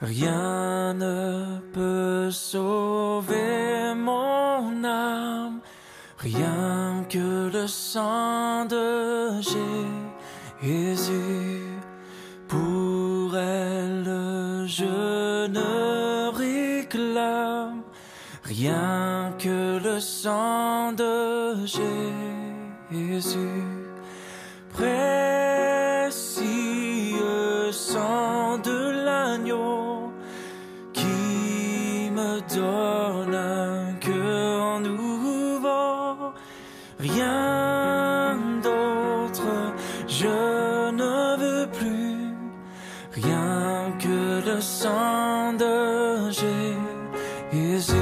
Rien ne peut sauver mon âme, rien que le sang de Jésus. Pour elle, je ne réclame rien que le sang de Jésus. Précieux sang de l'agneau qui me donne un cœur nouveau. Rien d'autre je ne veux plus, rien que le sang de Jésus.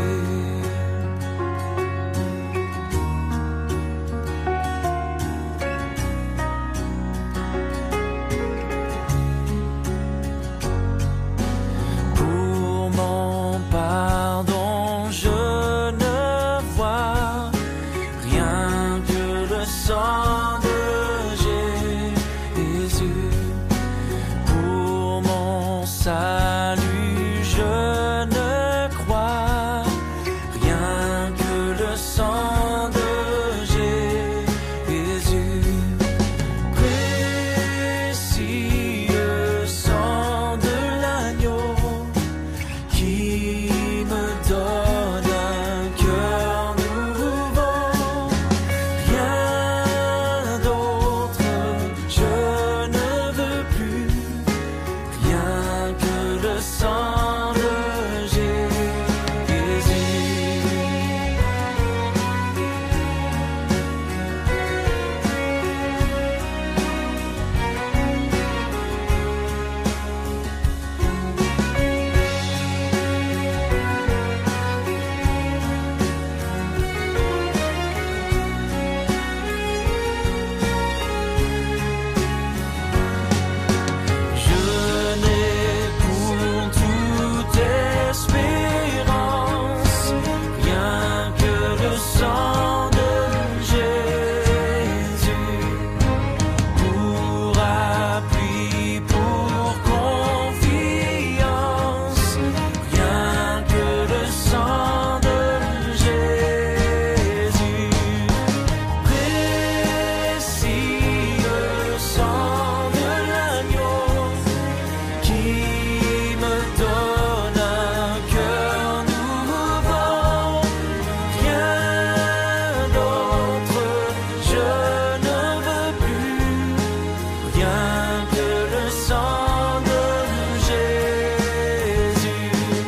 Salut, je ne crois rien que le sang de Jésus. Précieux sang de l'agneau qui me donne un cœur nouveau. Rien d'autre je ne veux plus, rien que le sang de Jésus. Je n'ai pour toute espérance rien que le sang de Jésus. Pour appui, pour confiance, rien que le sang de Jésus. Précieux sang de l'agneau qui me donne un cœur nouveau. Rien d'autre je ne veux plus, rien que le sang de Jésus.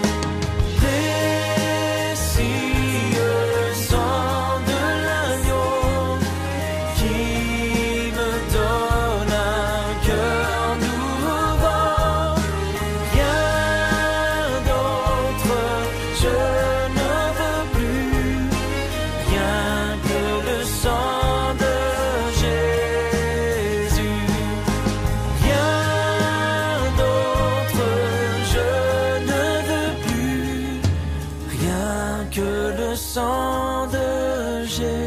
Précieux sang de l'agneau qui me donne un cœur nouveau. Rien d'autre je ne veux plus, rien que le sang de Jésus. Rien d'autre je ne veux plus, rien que le sang de Jésus.